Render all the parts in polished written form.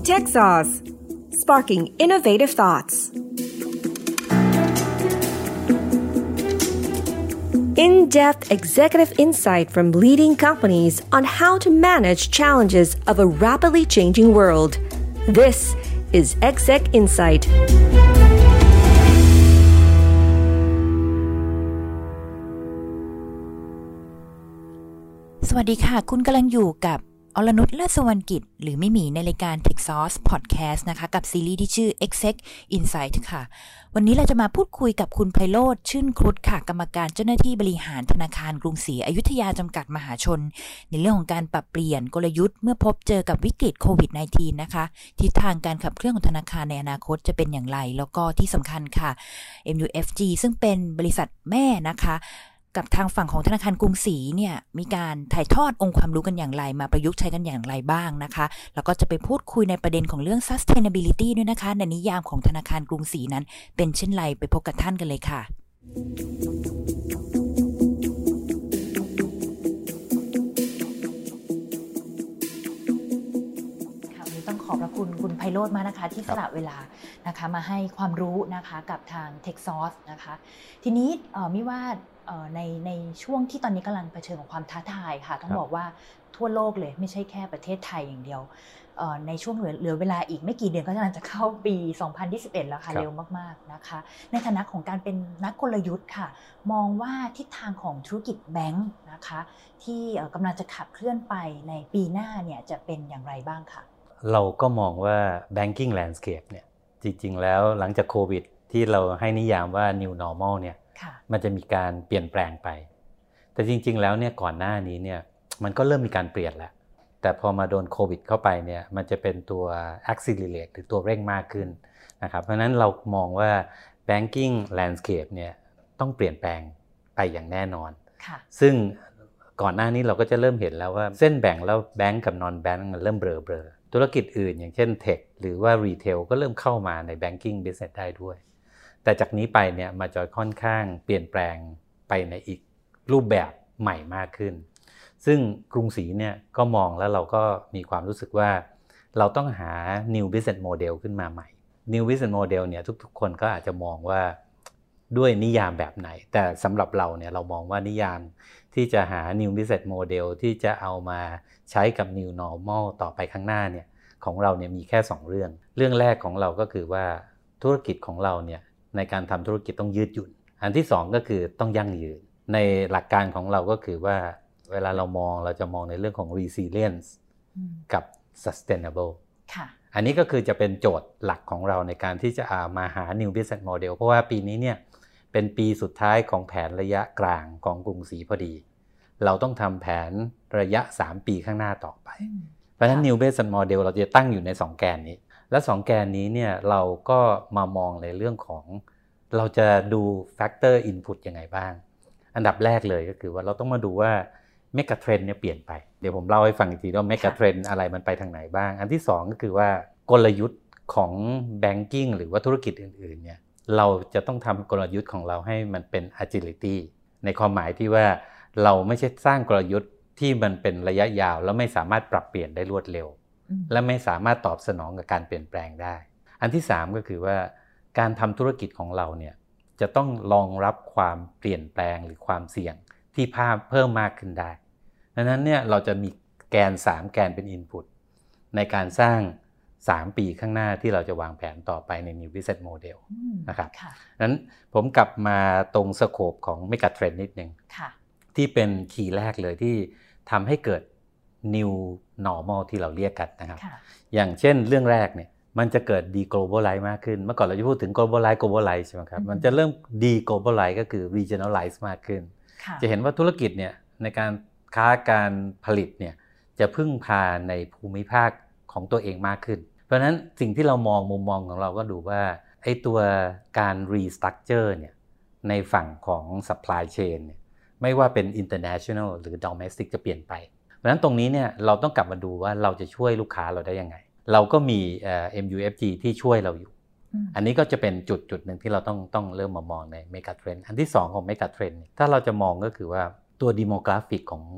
Tech Sauce Sparking Innovative Thoughts In-depth executive insight from leading companies on how to manage challenges of a rapidly changing world. This is Exec Insight. สวัสดีค่ะคุณกำลังอยู่กับอรนุช เลิศ สุวรรณกิจหรือไม่หมีในรายการ Tech Sauce Podcast นะคะกับซีรีส์ที่ชื่อ Exec Insight ค่ะวันนี้เราจะมาพูดคุยกับคุณไพโรจน์ ชื่นครุฑค่ะกรรมการเจ้าหน้าที่บริหารธนาคารกรุงศรีอยุธยาจำกัดมหาชนในเรื่องของการปรับเปลี่ยนกลยุทธ์เมื่อพบเจอกับวิกฤตโควิด -19 นะคะทิศทางการขับเคลื่อนของธนาคารในอนาคตจะเป็นอย่างไรแล้วก็ที่สำคัญค่ะ MUFG ซึ่งเป็นบริษัทแม่นะคะกับทางฝั่งของธนาคารกรุงศรีเนี่ยมีการถ่ายทอดองค์ความรู้กันอย่างไรมาประยุกต์ใช้กันอย่างไรบ้างนะคะแล้วก็จะไปพูดคุยในประเด็นของเรื่อง sustainability ด้วยนะคะในนิยามของธนาคารกรุงศรีนั้นเป็นเช่นไรไปพบกับท่านกันเลยค่ะต้องขอบพระคุณคุณไพโรจน์มากนะคะที่สละเวลานะคะมาให้ความรู้นะคะกับทาง Tech Sauce นะคะทีนี้มิว่าในช่วงที่ตอนนี้กำลังเผชิญกับความท้าทายค่ะต้องบอกว่าทั่วโลกเลยไม่ใช่แค่ประเทศไทยอย่างเดียวในช่วงเหลือเวลาอีกไม่กี่เดือนก็กำลังจะเข้าปี 2021 แล้วค่ะเร็วมากๆนะคะในฐานะของการเป็นนักกลยุทธ์ค่ะมองว่าทิศทางของธุรกิจแบงค์นะคะที่กำลังจะขับเคลื่อนไปในปีหน้าเนี่ยจะเป็นอย่างไรบ้างค่ะเราก็มองว่า banking landscape เนี่ยจริงๆแล้วหลังจากโควิดที่เราให้นิยามว่า new normal เนี่ยมันจะมีการเปลี่ยนแปลงไปแต่จริงๆแล้วเนี่ยก่อนหน้านี้เนี่ยมันก็เริ่มมีการเปลี่ยนแล้วแต่พอมาโดนโควิดเข้าไปเนี่ยมันจะเป็นตัว accelerate หรือตัวเร่งมากขึ้นนะครับเพราะฉะนั้นเรามองว่า banking landscape เนี่ยต้องเปลี่ยนแปลงไปอย่างแน่นอนซึ่งก่อนหน้านี้เราก็จะเริ่มเห็นแล้วว่าเส้นแบ่งแล้วแบงก์กับ non bank มันเริ่มเบลอๆธุรกิจอื่นอย่างเช่นเทคหรือว่ารีเทลก็เริ่มเข้ามาใน banking business ได้ด้วยแต่จากนี้ไปเนี่ยมันจะค่อนข้างเปลี่ยนแปลงไปในอีกรูปแบบใหม่มากขึ้นซึ่งกรุงศรีเนี่ยก็มองแล้วเราก็มีความรู้สึกว่าเราต้องหา new business model ขึ้นมาใหม่ new business model เนี่ยทุกๆคนก็อาจจะมองว่าด้วยนิยามแบบไหนแต่สำหรับเราเนี่ยเรามองว่านิยามที่จะหา new business model ที่จะเอามาใช้กับ new normal ต่อไปข้างหน้าเนี่ยของเราเนี่ยมีแค่2เรื่องแรกของเราก็คือว่าธุรกิจของเราเนี่ยในการทำธุรกิจต้องยืดหยุ่นอันที่2ก็คือต้องยั่งยืนในหลักการของเราก็คือว่าเวลาเราจะมองในเรื่องของ resilience กับ sustainable อันนี้ก็คือจะเป็นโจทย์หลักของเราในการที่จะมาหา new business model เพราะว่าปีนี้เนี่ยเป็นปีสุดท้ายของแผนระยะกลางของกรุงศรีพอดีเราต้องทำแผนระยะ3ปีข้างหน้าต่อไปเพราะฉะนั้น new business model เราจะตั้งอยู่ใน2แกนนี้และ2แกนนี้เนี่ยเราก็มามองในเรื่องของเราจะดู factor input ยังไงบ้างอันดับแรกเลยก็คือว่าเราต้องมาดูว่าเมกะเทรนด์เนี่ยเปลี่ยนไปเดี๋ยวผมเล่าให้ฟังอีกทีว่าเมกะเทรนด์อะไรมันไปทางไหนบ้างอันที่2ก็คือว่ากลยุทธ์ของ banking หรือว่าธุรกิจอื่นๆเนี่ยเราจะต้องทำกลยุทธ์ของเราให้มันเป็น agility ในความหมายที่ว่าเราไม่ใช่สร้างกลยุทธ์ที่มันเป็นระยะยาวแล้วไม่สามารถปรับเปลี่ยนได้รวดเร็วและไม่สามารถตอบสนองกับการเปลี่ยนแปลงได้อันที่3ก็คือว่าการทำธุรกิจของเราเนี่ยจะต้องรองรับความเปลี่ยนแปลงหรือความเสี่ยงที่เพิ่มมากขึ้นได้ดังนั้นเนี่ยเราจะมีแกน3แกนเป็น input ในการสร้าง3ปีข้างหน้าที่เราจะวางแผนต่อไปใน New Business Model นะครับนั้นผมกลับมาตรงสโคปของ Mega Trend นิดนึงที่เป็นคีย์แรกเลยที่ทำให้เกิด New Normal ที่เราเรียกกันนะครับอย่างเช่นเรื่องแรกเนี่ยมันจะเกิด deglobalize มากขึ้นเมื่อก่อนเราจะพูดถึง globalize ใช่ไหมครับมันจะเริ่ม deglobalize ก็คือ regionalize มากขึ้นจะเห็นว่าธุรกิจเนี่ยในการค้าการผลิตเนี่ยจะพึ่งพาในภูมิภาคของตัวเองมากขึ้นเพราะฉะนั้นสิ่งที่เรามองมุมมองของเราก็ดูว่าไอ้ตัวการ restructure เนี่ยในฝั่งของ supply chain เนี่ยไม่ว่าเป็น international หรือ domestic จะเปลี่ยนไปเพราะฉะนั้นตรงนี้เนี่ยเราต้องกลับมาดูว่าเราจะช่วยลูกค้าเราได้ยังไงเราก็มีMUFG ที่ช่วยเราอยู่อันนี้ก็จะเป็นจุดหนึ่งที่เราต้องเริ่มมามองใน Mega Trend อันที่2ของ Mega Trend ถ้าเราจะมองก็คือว่าตัว demographic ของ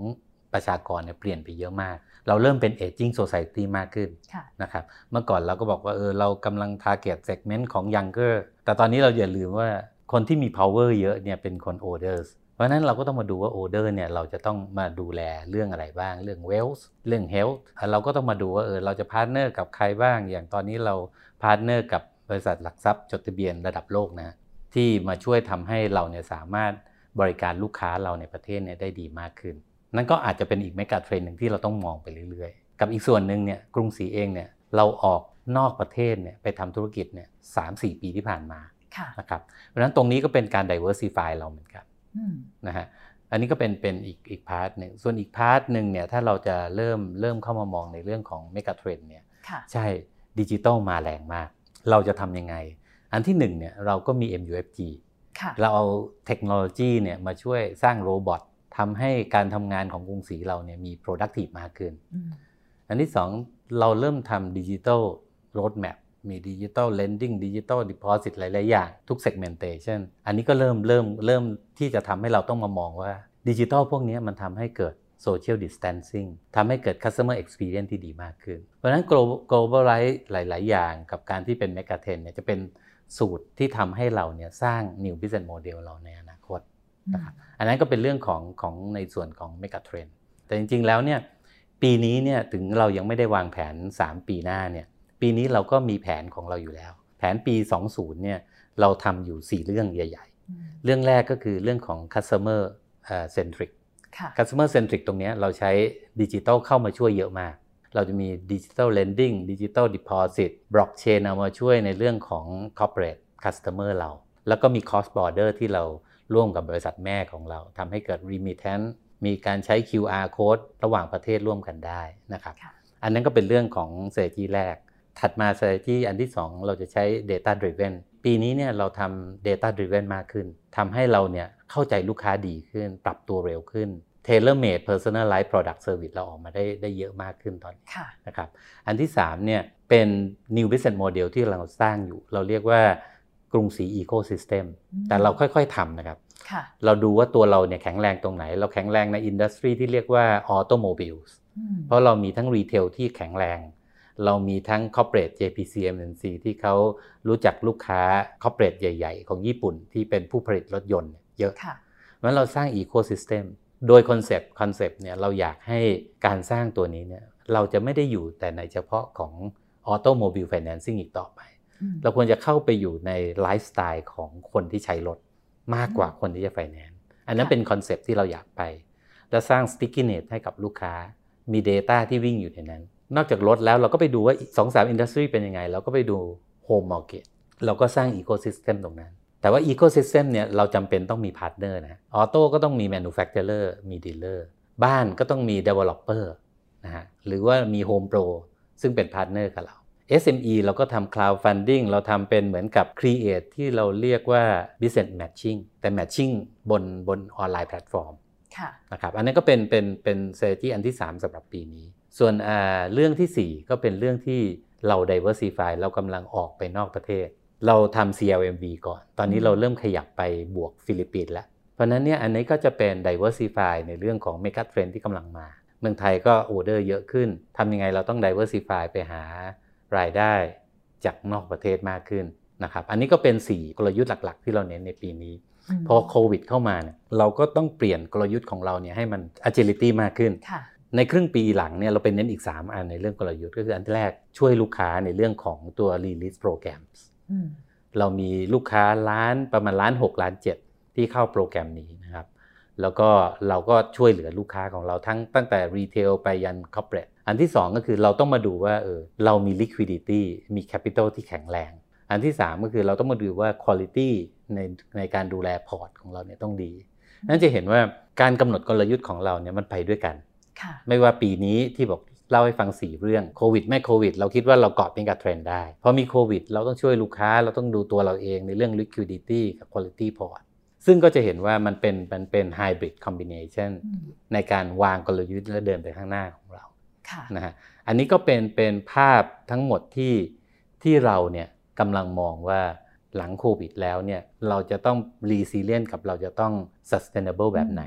ประชากรเนี่ยเปลี่ยนไปเยอะมากเราเริ่มเป็น aging society มากขึ้นนะครับเมื่อก่อนเราก็บอกว่าเรากำลัง target segment ของ younger แต่ตอนนี้เราอย่าลืมว่าคนที่มี power เยอะเนี่ยเป็นคน older เพราะฉะนั้นเราก็ต้องมาดูว่า older เนี่ยเราจะต้องมาดูแลเรื่องอะไรบ้างเรื่อง wealth เรื่อง health เราก็ต้องมาดูว่าเราจะพาร์ทเนอร์กับใครบ้างอย่างตอนนี้เราพาร์ทเนอร์กับบริษัทหลักทรัพย์จดทะเบียนระดับโลกนะที่มาช่วยทำให้เราเนี่ยสามารถบริการลูกค้าเราในประเทศเนี่ยได้ดีมากขึ้นนั่นก็อาจจะเป็นอีกเมกะเทรนด์นึงที่เราต้องมองไปเรื่อยๆกับอีกส่วนนึงเนี่ยกรุงศรีเองเนี่ยเราออกนอกประเทศเนี่ยไปทำธุรกิจเนี่ย 3-4 ปีที่ผ่านมานะครับเพราะฉะนั้นตรงนี้ก็เป็นการ diversify เราเหมือนกันนะฮะอันนี้ก็เป็นอีกพาร์ทนึงส่วนอีกพาร์ทนึงเนี่ยถ้าเราจะเริ่มเข้ามามองในเรื่องของเมกะเทรนด์เนี่ยใช่ดิจิตอลมาแรงมากเราจะทำยังไงอันที่1เนี่ยเราก็มี MUFG เราเอาเทคโนโลยีเนี่ยมาช่วยสร้างโรบอททำให้การทำงานของกรุงศรีเราเนี่ยมี productive มากขึ้นอันที่2เราเริ่มทำ digital roadmap มี digital lending digital deposit หลายๆอย่างทุก segmentation อันนี้ก็เริ่มที่จะทำให้เราต้องมามองว่าดิจิทัลพวกนี้มันทำให้เกิด social distancing ทำให้เกิด customer experience ที่ดีมากขึ้นเพราะฉะนั้น globalize หลายๆอย่างกับการที่เป็น mega trend เนี่ยจะเป็นสูตรที่ทำให้เราเนี่ยสร้าง new business model เราในอนาคตนะครับอันนั้นก็เป็นเรื่องของในส่วนของ mega trend แต่จริงๆแล้วเนี่ยปีนี้เนี่ยถึงเรายังไม่ได้วางแผน3ปีหน้าเนี่ยปีนี้เราก็มีแผนของเราอยู่แล้วแผนปี20เนี่ยเราทำอยู่4เรื่องใหญ่ๆเรื่องแรกก็คือเรื่องของ customer centric customer centric ตรงนี้เราใช้ดิจิทัลเข้ามาช่วยเยอะมากเราจะมี digital lending digital deposit blockchain เอามาช่วยในเรื่องของ corporate customer เราแล้วก็มี cross border ที่เราร่วมกับบริษัทแม่ของเราทำให้เกิด remittance มีการใช้ QR code ระหว่างประเทศร่วมกันได้นะครับอันนั้นก็เป็นเรื่องของ strategy แรกถัดมา strategy อันที่2เราจะใช้ data driven ปีนี้เนี่ยเราทำ data driven มากขึ้นทำให้เราเนี่ยเข้าใจลูกค้าดีขึ้นปรับตัวเร็วขึ้น tailor made personalized product service เราออกมาได้เยอะมากขึ้นตอนนี้นะครับอันที่3เนี่ยเป็น new business model ที่เราสร้างอยู่เราเรียกว่ากรุงศรี ecosystem แต่เราค่อยๆทำนะครับเราดูว่าตัวเราเนี่ยแข็งแรงตรงไหนเราแข็งแรงในอินดัสทรีที่เรียกว่า automobiles เพราะเรามีทั้งรีเทลที่แข็งแรงเรามีทั้ง corporate JPC MNC ที่เขารู้จักลูกค้า corporate ใหญ่ๆของญี่ปุ่นที่เป็นผู้ผลิตรถยนต์เยอะเพราะฉะนั้นเราสร้าง ecosystem โดยคอนเซปต์เนี่ยเราอยากให้การสร้างตัวนี้เนี่ยเราจะไม่ได้อยู่แต่ในเฉพาะของ automobile financing อีกต่อไปเราควรจะเข้าไปอยู่ในไลฟ์สไตล์ของคนที่ใช้รถมากกว่าคนที่จะ finance อันนั้นเป็นคอนเซปต์ที่เราอยากไปแล้วสร้าง stickiness ให้กับลูกค้ามี data ที่วิ่งอยู่ในนั้นนอกจากรถแล้วเราก็ไปดูว่า 2-3 industry เป็นยังไงเราก็ไปดู home market เราก็สร้าง ecosystem ตรงนั้นแต่ว่า ecosystem เนี่ยเราจำเป็นต้องมีพาร์ทเนอร์นะออโต้ก็ต้องมี manufacturer มี dealer บ้านก็ต้องมี developer นะฮะหรือว่ามี home pro ซึ่งเป็นพาร์ทเนอร์กับเรา SME เราก็ทำ crowdfunding เราทำเป็นเหมือนกับ create ที่เราเรียกว่า business matching แต่ matching บนออนไลน์แพลตฟอร์มนะครับอันนั้นก็เป็น strategy อันที่3สำหรับปีนี้ส่วนเรื่องที่4ก็เป็นเรื่องที่เรา diversify เรากำลังออกไปนอกประเทศเราทำ CLMV ก่อนตอนนี้เราเริ่มขยับไปบวกฟิลิปปินส์แล้วเพราะนั้นเนี่ยอันนี้ก็จะเป็น diversify ในเรื่องของ mega trend ที่กำลังมาเมืองไทยก็ออเดอร์เยอะขึ้นทำยังไงเราต้อง diversify ไปหารายได้จากนอกประเทศมากขึ้นนะครับอันนี้ก็เป็น4กลยุทธ์หลักๆที่เราเน้นในปีนี้พอโควิดเข้ามาเนี่ยเราก็ต้องเปลี่ยนกลยุทธ์ของเราเนี่ยให้มัน agility มากขึ้นในครึ่งปีหลังเนี่ยเราเป็นเน้นอีก3อันในเรื่องกลยุทธ์ก็คืออันแรกช่วยลูกค้าในเรื่องของตัว release programs เรามีลูกค้าประมาณ1.6 ล้านที่เข้าโปรแกรมนี้นะครับแล้วก็เราก็ช่วยเหลือลูกค้าของเราตั้งแต่รีเทลไปยัน corporate อันที่2ก็คือเราต้องมาดูว่าเรามี liquidity มี capital ที่แข็งแรงอันที่3ก็คือเราต้องมาดูว่า quality ในการดูแลพอร์ตของเราเนี่ยต้องดีนั่นจะเห็นว่าการกำหนดกลยุทธ์ของเราเนี่ยมันไปด้วยกันไม่ว่าปีนี้ที่บอกเล่าให้ฟัง4เรื่องโควิดไม่โควิดเราคิดว่าเราเกาะเป็นกับเทรนด์ได้พอมีโควิดเราต้องช่วยลูกค้าเราต้องดูตัวเราเองในเรื่อง liquidity กับ quality port ซึ่งก็จะเห็นว่ามันเป็น hybrid combination ในการวางกลยุทธ์และเดินไปข้างหน้าของเรานะฮะอันนี้ก็เป็นภาพทั้งหมดที่เราเนี่ยกำลังมองว่าหลังโควิดแล้วเนี่ยเราจะต้อง resilient กับเราจะต้อง sustainable แบบไหน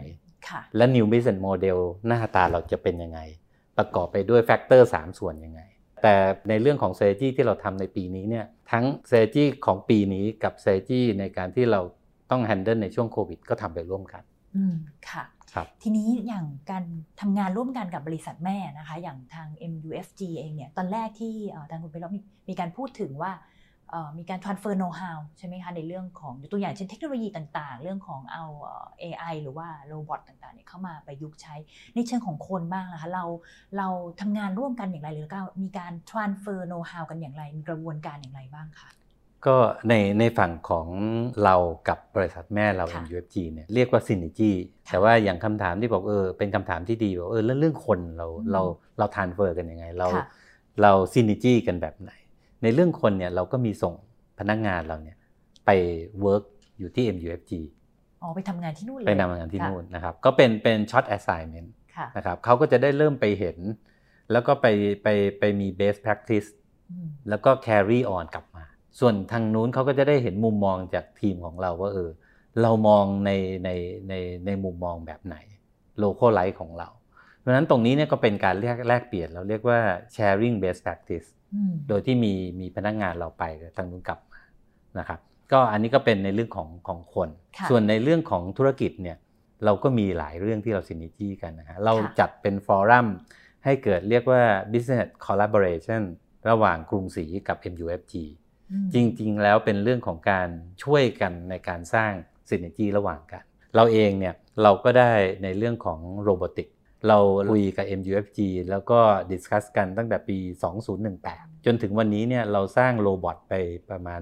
และ New Business Model หน้าตาเราจะเป็นยังไงประกอบไปด้วยแฟกเตอร์3ส่วนยังไงแต่ในเรื่องของ strategy ที่เราทำในปีนี้เนี่ยทั้ง strategy ของปีนี้กับ strategy ในการที่เราต้อง handle ในช่วงโควิดก็ทำไปร่วมกันค่ะทีนี้อย่างการทำงานร่วมกันกับบริษัทแม่นะคะอย่างทาง MUFG เองเนี่ยตอนแรกที่ทางคุณไพเราะมีการพูดถึงว่ามีการ transfer know how ใช่ไหมคะในเรื่องของตัวอย่างเช่นเทคโนโลยีต่างๆเรื่องของเอา AI หรือว่าโรบอทต่างๆเนี่ยเข้ามาประยุกต์ใช้ในเชิงของคนบ้างนะคะเราทำงานร่วมกันอย่างไรหรือมีการ transfer know how กันอย่างไรมีกระบวนการอย่างไรบ้างคะก็ในฝั่งของเรากับบริษัทแม่เรา MUFG เนี่ยเรียกว่า synergy แต่ว่าอย่างคำถามที่บอกเป็นคำถามที่ดีบอกเรื่องคนเรา transfer กันยังไงเรา synergy กันแบบไหนในเรื่องคนเนี่ยเราก็มีส่งพนักงานเราเนี่ยไป work อยู่ที่ MUFG ไปทำงานที่นู่นเลยไปทำงานที่นู่นนะครับก็เป็น short assignment นะครับเขาก็จะได้เริ่มไปเห็นแล้วก็ไปมี best practice แล้วก็ carry on กลับมาส่วนทางนู้นเขาก็จะได้เห็นมุมมองจากทีมของเราว่าเรามองในมุมมองแบบไหน localize ของเราเพราะฉะนั้นตรงนี้เนี่ยก็เป็นการแลกเปลี่ยนเราเรียกว่า sharing best practice โดยที่มีพนักงานเราไปทางนู้นกลับมานะครับก็อันนี้ก็เป็นในเรื่องของคนส่วนในเรื่องของธุรกิจเนี่ยเราก็มีหลายเรื่องที่เราซินเนจี้กันนะฮะเราจัดเป็นฟอรัมให้เกิดเรียกว่า business collaboration ระหว่างกรุงศรีกับ MUFG จริงๆแล้วเป็นเรื่องของการช่วยกันในการสร้างซินเนจี้ระหว่างกันเราเองเนี่ยเราก็ได้ในเรื่องของโรบอติกเราคุยกับ MUFG แล้วก็ดิสคัสกันตั้งแต่ปี 2018 จนถึงวันนี้เนี่ยเราสร้างโรบอทไปประมาณ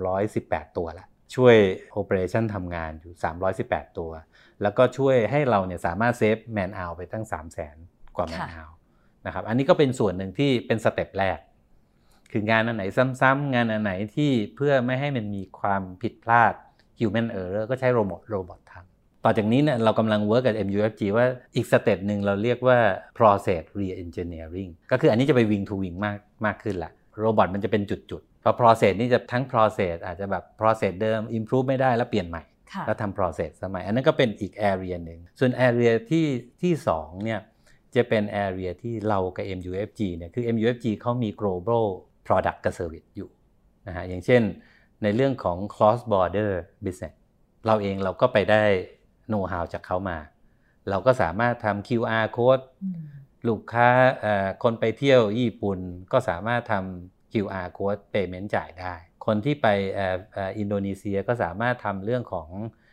318ตัวแล้วช่วยโอเปอเรชั่นทำงานอยู่318ตัวแล้วก็ช่วยให้เราเนี่ยสามารถเซฟแมนเอาไปตั้ง 300,000 กว่าแมนเอานะครับอันนี้ก็เป็นส่วนหนึ่งที่เป็นสเต็ปแรกคืองานอันไหนซ้ำๆงานอันไหนที่เพื่อไม่ให้มันมีความผิดพลาด human error ก็ใช้โรบอททำต่อจากนี้เนี่ยเรากำลังเวิร์กกับ MUFG ว่าอีกสเต็ปหนึ่งเราเรียกว่า process re-engineering ก็คืออันนี้จะไป wing to wing มากขึ้นละโรบอทมันจะเป็นจุดๆเพราะ process นี่จะทั้ง process อาจจะแบบ process เดิม improve ไม่ได้แล้วเปลี่ยนใหม่แล้วทำ process สมัยอันนั้นก็เป็นอีก area หนึ่งส่วน area ที่2เนี่ยจะเป็น area ที่เรากับ MUFG เนี่ยคือ MUFG เขามี global product กับ service อยู่นะฮะอย่างเช่นในเรื่องของ cross border business เราเองเราก็ไปได้โน้ตฮาวจากเขามาเราก็สามารถทำ QR code ลูกค้าคนไปเที่ยวญี่ปุ่นก็สามารถทำ QR code payment จ่ายได้คนที่ไปอินโดนีเซียก็สามารถทำเรื่องของ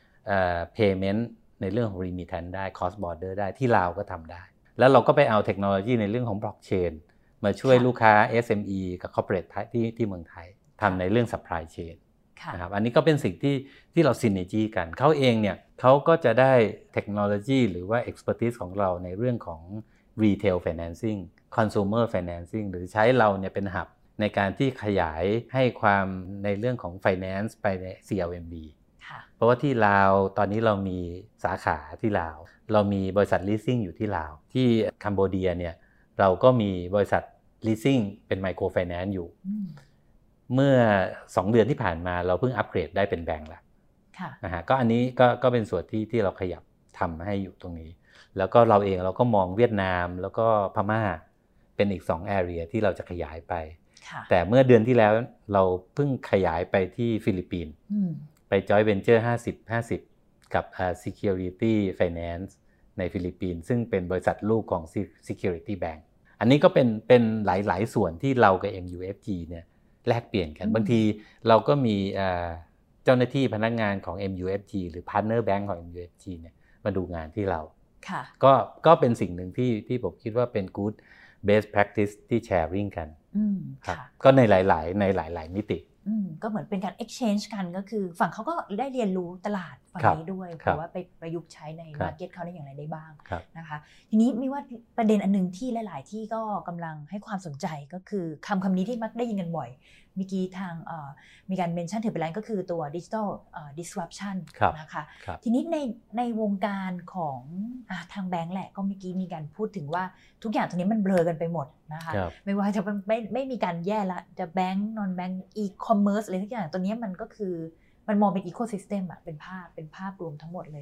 payment ในเรื่องของ remittance ได้ cross border ได้ที่ลาวก็ทำได้แล้วเราก็ไปเอาเทคโนโลยีในเรื่องของ blockchain มาช่วยลูกค้า SME กับ corporate ที่เมืองไทยทำในเรื่อง supply chainนะครับอันนี้ก็เป็นสิ่งที่เราซินเนจี้กันเขาเองเนี่ยเขาก็จะได้เทคโนโลยีหรือว่า expertise ของเราในเรื่องของ retail financing consumer financing หรือใช้เราเนี่ยเป็นหับในการที่ขยายให้ความในเรื่องของ finance ไปใน CLMV เพราะว่าที่ลาวตอนนี้เรามีสาขาที่ลาวเรามีบริษัท leasing อยู่ที่ลาวที่คัมโบเดียเนี่ยเราก็มีบริษัท leasing เป็น micro finance อยู่เมื่อ2เดือนที่ผ่านมาเราเพิ่งอัปเกรดได้เป็นแบงก์แล้วนะฮะก็อันนี้ก็เป็นส่วนที่เราขยับทำให้อยู่ตรงนี้แล้วก็เราเองเราก็มองเวียดนามแล้วก็พม่าเป็นอีก2 area ที่เราจะขยายไปแต่เมื่อเดือนที่แล้วเราเพิ่งขยายไปที่ฟิลิปปินส์ไป joint venture 50-50 กับ Security Finance ในฟิลิปปินส์ซึ่งเป็นบริษัทลูกของ Security Bank อันนี้ก็เป็นหลายส่วนที่เรากับ MUFG เนี่ยแลกเปลี่ยนกันบางทีเราก็มีเจ้าหน้าที่พนักงานของ MUFG หรือ Partner Bank ของ MUFG เนี่ยมาดูงานที่เราก็เป็นสิ่งหนึ่งที่ผมคิดว่าเป็น good best practice ที่ sharing กันครับก็ในหลายมิติก็เหมือนเป็นการ exchange กันก็คือฝั่งเขาก็ได้เรียนรู้ตลาดฝั่งนี้ด้วยหรือว่าไปประยุกต์ใช้ใน market เขาได้อย่างไรได้บ้างนะคะทีนี้มีว่าประเด็นอันนึงที่หลายๆที่ก็กำลังให้ความสนใจก็คือคำนี้ที่มักได้ยินกันบ่อยเมื่อกี้ทางมีการเมนชั่นถึงไปแล้วก็คือตัว digital disruption นะคะทีนี้ในวงการของทางแบงก์แหละก็เมื่อกี้มีการพูดถึงว่าทุกอย่างตรงนี้มันเบลอกันไปหมดนะคะไม่ว่าจะไม่มีการแยกละจะแบงก์นอนแบงก์อีคอมเมิร์ซอะไรทุกอย่างตัวนี้มันก็คือมันมองเป็นอีโคซิสเต็มอะเป็นภาพรวมทั้งหมดเลย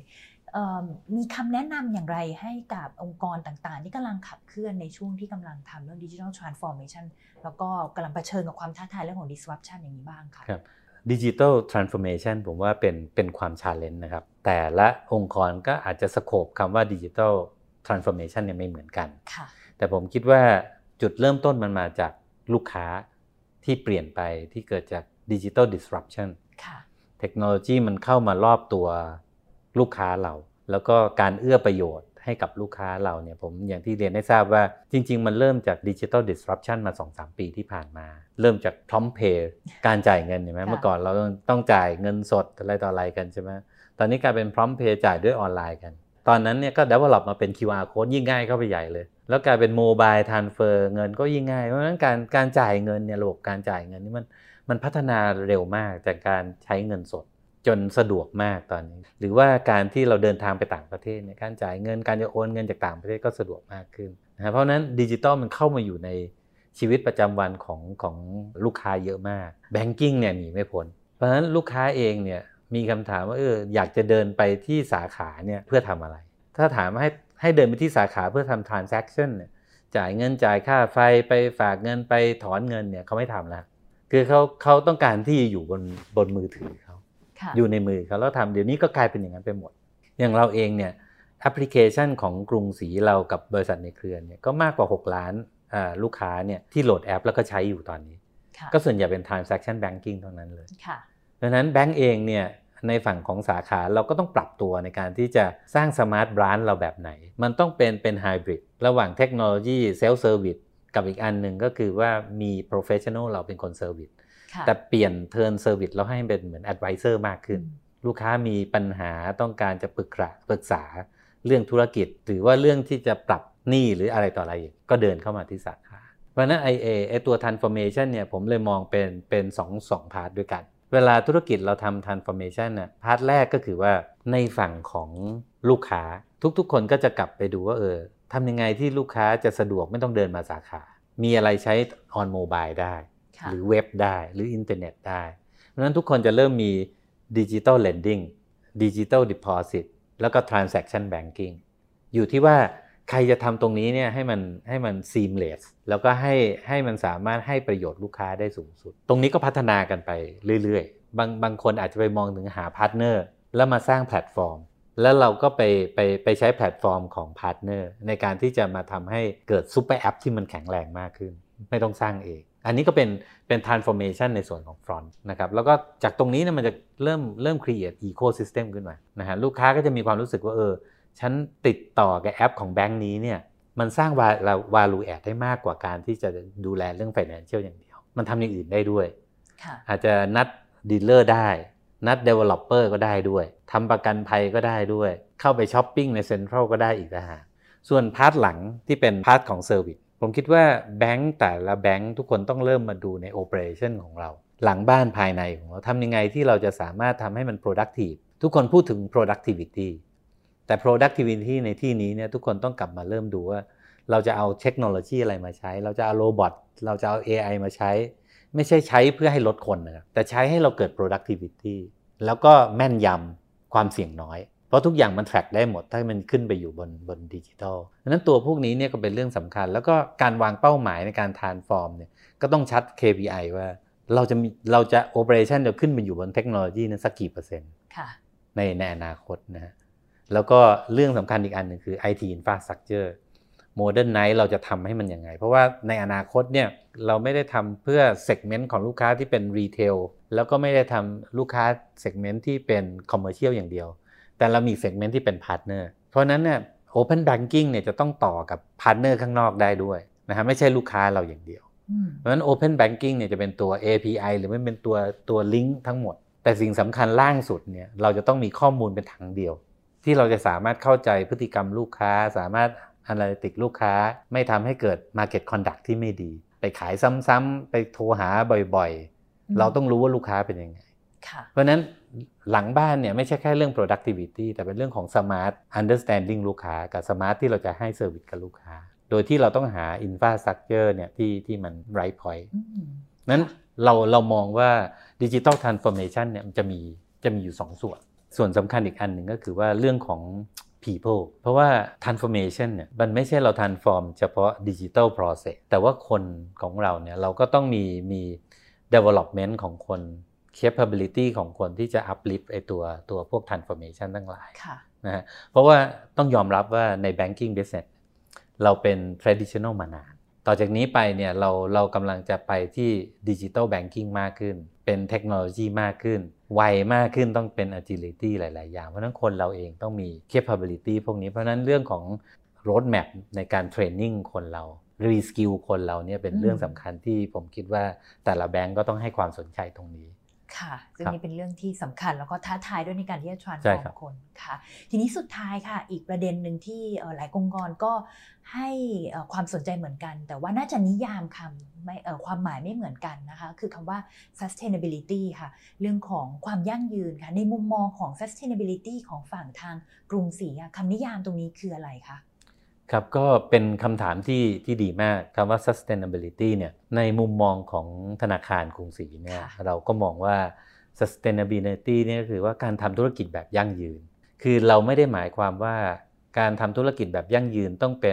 มีคำแนะนำอย่างไรให้กับองค์กรต่างๆที่กำลังขับเคลื่อนในช่วงที่กำลังทำเรื่อง Digital Transformation แล้วก็กำลังเผชิญกับความท้าทายเรื่องของ disruption อย่างนี้บ้างค่ะครับ Digital Transformation ผมว่าเป็นความ challenge นะครับแต่ละองค์กรก็อาจจะสโคปคำว่า Digital Transformation เนี่ยไม่เหมือนกันแต่ผมคิดว่าจุดเริ่มต้นมันมาจากลูกค้าที่เปลี่ยนไปที่เกิดจาก Digital Disruption เทคโนโลยีมันเข้ามารอบตัวลูกค้าเราแล้วก็การเอื้อประโยชน์ให้กับลูกค้าเราเนี่ยผมอย่างที่เรียนให้ทราบว่าจริงๆมันเริ่มจาก Digital Disruption มา 2-3 ปีที่ผ่านมาเริ่มจาก Prompt Pay การจ่ายเงินเห็นไหมเมื่อก่อนเราต้องจ่ายเงินสดอะไรต่ออะไรกันใช่ไหมตอนนี้กลายเป็น Prompt Pay จ่ายด้วยออนไลน์กันตอนนั้นเนี่ยก็ develop มาเป็น QR Code ยิ่งง่ายเข้าไปใหญ่เลยแล้วกลายเป็น Mobile Transfer เงินก็ยิ่งง่ายเพราะฉะนั้นการจ่ายเงินเนี่ยระบบการจ่ายเงินนี่มันพัฒนาเร็วมากจากการใช้เงินสดจนสะดวกมากตอนนี้หรือว่าการที่เราเดินทางไปต่างประเทศเนี่ยการจ่ายเงินการจะโอนเงินจากต่างประเทศก็สะดวกมากขึ้นนะเพราะนั้นดิจิตอลมันเข้ามาอยู่ในชีวิตประจำวันของลูกค้าเยอะมากแบงกิ้งเนี่ยหนีไม่พ้นเพราะฉะนั้นลูกค้าเองเนี่ยมีคำถามว่าอยากจะเดินไปที่สาขาเนี่ยเพื่อทำอะไรถ้าถามให้เดินไปที่สาขาเพื่อทำ transaction เนี่ยจ่ายเงินจ่ายค่าไฟไปฝากเงินไปถอนเงินเนี่ยเขาไม่ทำแล้วคือเขาต้องการที่อยู่บนมือถือเขาอยู่ในมือเขาแล้วทำเดี๋ยวนี้ก็กลายเป็นอย่างนั้นไปหมดอย่างเราเองเนี่ยแอปพลิเคชันของกรุงศรีเรากับบริษัทในเครือเนี่ยก็มากกว่า6 ล้านลูกค้าเนี่ยที่โหลดแอปแล้วก็ใช้อยู่ตอนนี้ก็ส่วนใหญ่เป็น transaction banking เท่านั้นเลยดังนั้นแบงก์เองเนี่ยในฝั่งของสาขาเราก็ต้องปรับตัวในการที่จะสร้างสมาร์ทบรานด์เราแบบไหนมันต้องเป็นไฮบริดระหว่างเทคโนโลยีเซลฟ์เซอร์วิสกับอีกอันหนึ่งก็คือว่ามีโปรเฟชชั่นอลเราเป็นคนเซอร์วิสแต่เปลี่ยนเทิร์นเซอร์วิสเราให้เป็นเหมือนแอดไวเซอร์มากขึ้นลูกค้ามีปัญหาต้องการจะปรึกษาเรื่องธุรกิจหรือว่าเรื่องที่จะปรับหนี้หรืออะไรต่ออะไรก็เดินเข้ามาที่สาขาเพราะฉะนั้นไอตัว transformation เนี่ยผมเลยมองเป็น2พาร์ทด้วยกันเวลาธุรกิจเราทำ transformation น่ะพาร์ทแรกก็คือว่าในฝั่งของลูกค้าทุกคนก็จะกลับไปดูว่าทำยังไงที่ลูกค้าจะสะดวกไม่ต้องเดินมาสาขามีอะไรใช้ on mobile ได้หรือเว็บได้หรืออินเทอร์เน็ตได้เพราะฉะนั้นทุกคนจะเริ่มมี digital lending digital deposit แล้วก็ transaction banking อยู่ที่ว่าใครจะทำตรงนี้เนี่ยให้มัน seamless แล้วก็ให้มันสามารถให้ประโยชน์ลูกค้าได้สูงสุดตรงนี้ก็พัฒนากันไปเรื่อยๆบางคนอาจจะไปมองถึงหาพาร์ทเนอร์แล้วมาสร้างแพลตฟอร์มแล้วเราก็ไปใช้แพลตฟอร์มของพาร์ทเนอร์ในการที่จะมาทำให้เกิดซุปเปอร์แอปที่มันแข็งแรงมากขึ้นไม่ต้องสร้างเองอันนี้ก็เป็น transformation ในส่วนของ front นะครับแล้วก็จากตรงนี้เนี่ยมันจะเริ่ม create ecosystem ขึ้นมานะฮะลูกค้าก็จะมีความรู้สึกว่าฉันติดต่อกับแอปของแบงค์นี้เนี่ยมันสร้าง value add ได้มากกว่าการที่จะดูแลเรื่อง financial อย่างเดียวมันทำอย่างอื่นได้ด้วยอาจจะนัด dealer ได้นัด developer ก็ได้ด้วยทำประกันภัยก็ได้ด้วยเข้าไปช้อปปิ้งใน Central ก็ได้อีกนะฮะส่วนพาร์ทหลังที่เป็นพาร์ทของ Service ผมคิดว่าแบงค์แต่ละแบงค์ทุกคนต้องเริ่มมาดูใน operation ของเราหลังบ้านภายในของเราทำยังไงที่เราจะสามารถทำให้มัน productive ทุกคนพูดถึง productivityแต่ productivity ในที่นี้เนี่ยทุกคนต้องกลับมาเริ่มดูว่าเราจะเอาเทคโนโลยีอะไรมาใช้เราจะเอาโรบอทเราจะเอา AI มาใช้ไม่ใช่ใช้เพื่อให้ลดคนนะครับแต่ใช้ให้เราเกิด productivity แล้วก็แม่นยำความเสี่ยงน้อยเพราะทุกอย่างมัน track ได้หมดถ้ามันขึ้นไปอยู่บนดิจิทัลดังนั้นตัวพวกนี้เนี่ยก็เป็นเรื่องสำคัญแล้วก็การวางเป้าหมายในการ transform เนี่ยก็ต้องชัด KPI ว่าเราจะ operation จะขึ้นไปอยู่บนเทคโนโลยีนั้นสักกี่%ในอนาคตนะฮะแล้วก็เรื่องสำคัญอีกอันหนึ่งคือ IT infrastructure Modernize เราจะทำให้มันยังไงเพราะว่าในอนาคตเนี่ยเราไม่ได้ทำเพื่อ segment ของลูกค้าที่เป็น retail แล้วก็ไม่ได้ทำลูกค้า segment ที่เป็น commercial อย่างเดียวแต่เรามี segment ที่เป็น partner เพราะนั้นเนี่ย open banking เนี่ยจะต้องต่อกับ partner ข้างนอกได้ด้วยนะฮะไม่ใช่ลูกค้าเราอย่างเดียวเพราะฉะนั้น open banking เนี่ยจะเป็นตัว API หรือไม่เป็นตัว link ทั้งหมดแต่สิ่งสำคัญล่างสุดเนี่ยเราจะต้องมีข้อมูลเป็นถังเดียวที่เราจะสามารถเข้าใจพฤติกรรมลูกค้าสามารถanalytics ลูกค้าไม่ทำให้เกิด market conduct ที่ไม่ดีไปขายซ้ำๆไปโทรหาบ่อยๆเราต้องรู้ว่าลูกค้าเป็นยังไงเพราะนั้นหลังบ้านเนี่ยไม่ใช่แค่เรื่อง productivity แต่เป็นเรื่องของ smart understanding ลูกค้ากับ smart ที่เราจะให้ service กับลูกค้าโดยที่เราต้องหา infrastructure เนี่ยที่มัน right point นั้นเรามองว่า digital transformation เนี่ยมันจะมีอยู่2 ส่วนส่วนสำคัญอีกอันหนึ่งก็คือว่าเรื่องของ people เพราะว่า transformation เนี่ยมันไม่ใช่เรา transform เฉพาะ digital process แต่ว่าคนของเราเนี่ยเราก็ต้องมี development ของคน capability ของคนที่จะ uplift ไอ้ตัวพวก transformation ทั้งหลายนะฮะเพราะว่าต้องยอมรับว่าใน banking business เราเป็น traditional มานานต่อจากนี้ไปเนี่ยเรากำลังจะไปที่ digital banking มากขึ้นเป็นเทคโนโลยีมากขึ้นไวมากขึ้นต้องเป็น agility หลายๆอย่างเพราะฉะนั้นคนเราเองต้องมี capability พวกนี้เพราะฉะนั้นเรื่องของ road map ในการ training คนเรา reskill คนเราเนี่ยเป็นเรื่องสำคัญที่ผมคิดว่าแต่ละแบงก์ก็ต้องให้ความสนใจตรงนี้ค่ะซึ่งนี่เป็นเรื่องที่สำคัญแล้วก็ท้าทายด้วยในการที่จะ transform คนค่ะทีนี้สุดท้ายค่ะอีกประเด็นหนึ่งที่หลายองค์กรก็ให้ความสนใจเหมือนกันแต่ว่าน่าจะนิยามคำไม่ความหมายไม่เหมือนกันนะคะคือคำว่า sustainability ค่ะเรื่องของความยั่งยืนค่ะในมุมมองของ sustainability ของฝั่งทางกรุงศรีคำนิยามตรงนี้คืออะไรคะครับก็เป็นคำถามที่ดีมากคำว่า sustainability เนี่ยในมุมมองของธนาคารกรุงศรีเนี่ยเราก็มองว่า sustainability เนี่ยคือว่าการทำธุรกิจแบบยั่งยืนคือเราไม่ได้หมายความว่าการทำธุรกิจแบบยั่งยืนต้องเป็น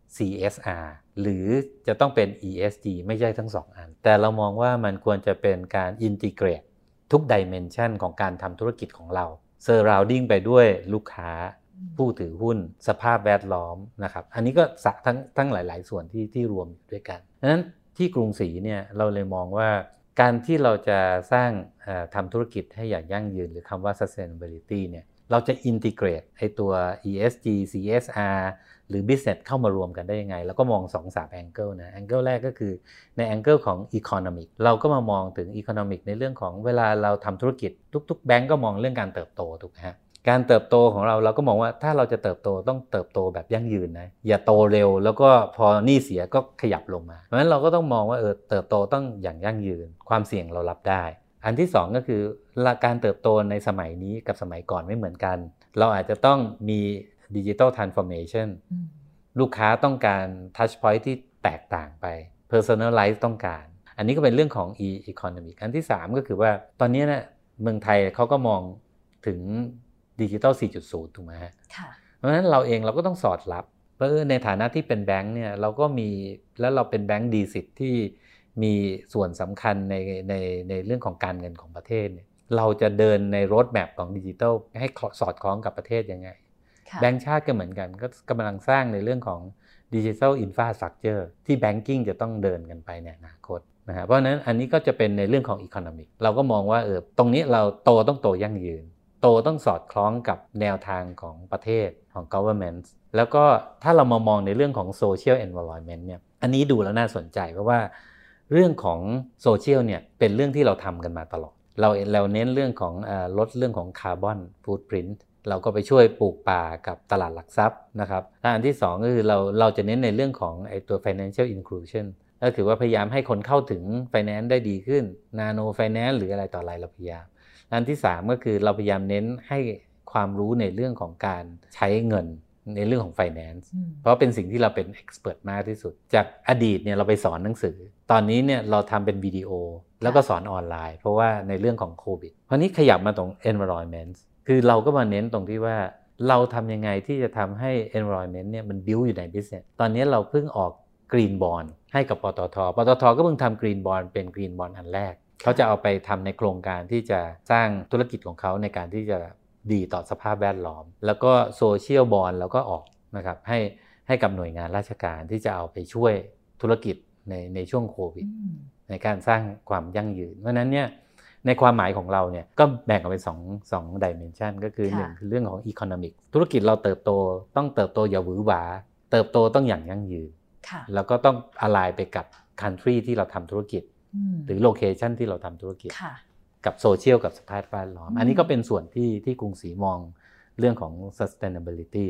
CSR หรือจะต้องเป็น ESG ไม่ใช่ทั้งสองอันแต่เรามองว่ามันควรจะเป็นการ integrate ทุก dimension ของการทำธุรกิจของเรา surrounding ไปด้วยลูกค้าผู้ถือหุ้นสภาพแวดล้อมนะครับอันนี้ก็ทั้งหลายๆส่วนที่รวมอยู่ด้วยกันดังนั้นที่กรุงศรีเนี่ยเราเลยมองว่าการที่เราจะสร้างทำธุรกิจให้อย่างยั่งยืนหรือคำว่า sustainability เนี่ยเราจะ integrate ไอ้ตัว ESG CSR หรือ business เข้ามารวมกันได้ยังไงแล้วก็มอง 2-3 angle นะ angle แรกก็คือใน angle ของ economic เราก็มามองถึง economic ในเรื่องของเวลาเราทำธุรกิจทุกๆแบงก์ก็มองเรื่องการเติบโตถูกไหมฮะการเติบโตของเราก็มองว่าถ้าเราจะเติบโตต้องเติบโตแบบยั่งยืนนะอย่าโตเร็วแล้วก็พอหนี้เสียก็ขยับลงมาเพราะฉะนั้นเราก็ต้องมองว่าเติบโตต้องอย่างยั่งยืนความเสี่ยงเรารับได้อันที่2ก็คือการเติบโตในสมัยนี้กับสมัยก่อนไม่เหมือนกันเราอาจจะต้องมี digital transformation ลูกค้าต้องการ touch point ที่แตกต่างไป personalize ต้องการอันนี้ก็เป็นเรื่องของ economic อันที่3ก็คือว่าตอนนี้นะเมืองไทยเขาก็มองถึงDigital 4.0 ถูกไหมฮะเพราะฉะนั้นเราเองเราก็ต้องสอดรับเพราะในฐานะที่เป็นแบงค์เนี่ยเราก็มีแล้วเราเป็นแบงค์ดีสิทธิ์ที่มีส่วนสำคัญในเรื่องของการเงินของประเทศเนี่ยเราจะเดินในโรดแมพของดิจิทัลให้สอดคล้องกับประเทศยังไงแบงค์ชาติก็เหมือนกันก็กำลังสร้างในเรื่องของดิจิทัลอินฟราสตรัคเจอร์ที่แบงกิ้งจะต้องเดินกันไปในอนาคตนะฮะเพราะฉะนั้นอันนี้ก็จะเป็นในเรื่องของอีโคโนมิกเราก็มองว่าตรงนี้เราต้องโตยั่งยืนโตต้องสอดคล้องกับแนวทางของประเทศของ government แล้วก็ถ้าเรามามองในเรื่องของ social environment เนี่ยอันนี้ดูแล้วน่าสนใจเพราะว่าเรื่องของ social เนี่ยเป็นเรื่องที่เราทำกันมาตลอดเราเน้นเรื่องของลดเรื่องของ carbon footprint เราก็ไปช่วยปลูกป่ากับตลาดหลักทรัพย์นะครับและอันที่2ก็คือเราจะเน้นในเรื่องของไอ้ตัว financial inclusion ก็คือว่าพยายามให้คนเข้าถึง finance ได้ดีขึ้น nano finance หรืออะไรต่ออะไรเราพยายามอันที่3ก็คือเราพยายามเน้นให้ความรู้ในเรื่องของการใช้เงินในเรื่องของ finance เพราะเป็นสิ่งที่เราเป็น expert มากที่สุดจากอดีตเนี่ยเราไปสอนหนังสือตอนนี้เนี่ยเราทำเป็นวิดีโอแล้วก็สอนออนไลน์เพราะว่าในเรื่องของโควิดเพราะนี้ขยับมาตรง environment คือเราก็มาเน้นตรงที่ว่าเราทำยังไงที่จะทำให้ environment เนี่ยมัน build อยู่ใน business ตอนนี้เราเพิ่งออก green bond ให้กับปตท.ก็เพิ่งทำ green bond เป็น green bond อันแรกเขาจะเอาไปทำในโครงการที่จะสร้างธุรกิจของเขาในการที่จะดีต่อสภาพแวดล้อมแล้วก็โซเชียลบอนด์แล้วก็ออกนะครับให้กับหน่วยงานราชการที่จะเอาไปช่วยธุรกิจในช่วงโควิดในการสร้างความยั่งยืนเพราะนั้นเนี่ยในความหมายของเราเนี่ยก็แบ่งออกเป็น2 dimension ก็คือ1คือเรื่องของ economic ธุรกิจเราต้องเติบโตอย่าหวือหวาเติบโตต้องอย่างยั่งยืนแล้วก็ต้อง align ไปกับ country ที่เราทำธุรกิจหรือโลเคชันที่เราทำธุรกิจกับโซเชียลกับสภาพแวดล้อมอันนี้ก็เป็นส่วนที่กรุงศรีมองเรื่องของ sustainability ครับ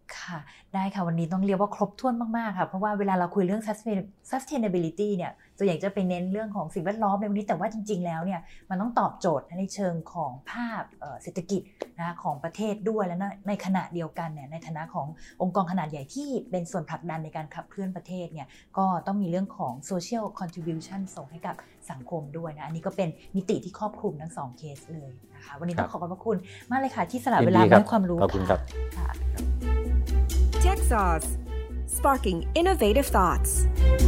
ค่ะได้ค่ะวันนี้ต้องเรียกว่าครบถ้วนมากๆค่ะเพราะว่าเวลาเราคุยเรื่อง sustainability เนี่ยส่วนใหญ่จะไปเน้นเรื่องของสิ่งแวดล้อมในวันนี้แต่ว่าจริงๆแล้วเนี่ยมันต้องตอบโจทย์ในเชิงของภาพเศรษฐกิจนะของประเทศด้วยและในขณะเดียวกันเนี่ยในฐานะขององค์กรขนาดใหญ่ที่เป็นส่วนผลักดันในการขับเคลื่อนประเทศเนี่ยก็ต้องมีเรื่องของ social contribution ส่งให้กับสังคมด้วยนะอันนี้ก็เป็นมิติที่ครอบคลุมทั้ง2เคสเลยนะคะวันนี้ต้องขอบพระคุณมากเลยค่ะที่สละเวลาให้ความรู้ขอบคุณครับ Tech Sauce, sparking innovative thoughts.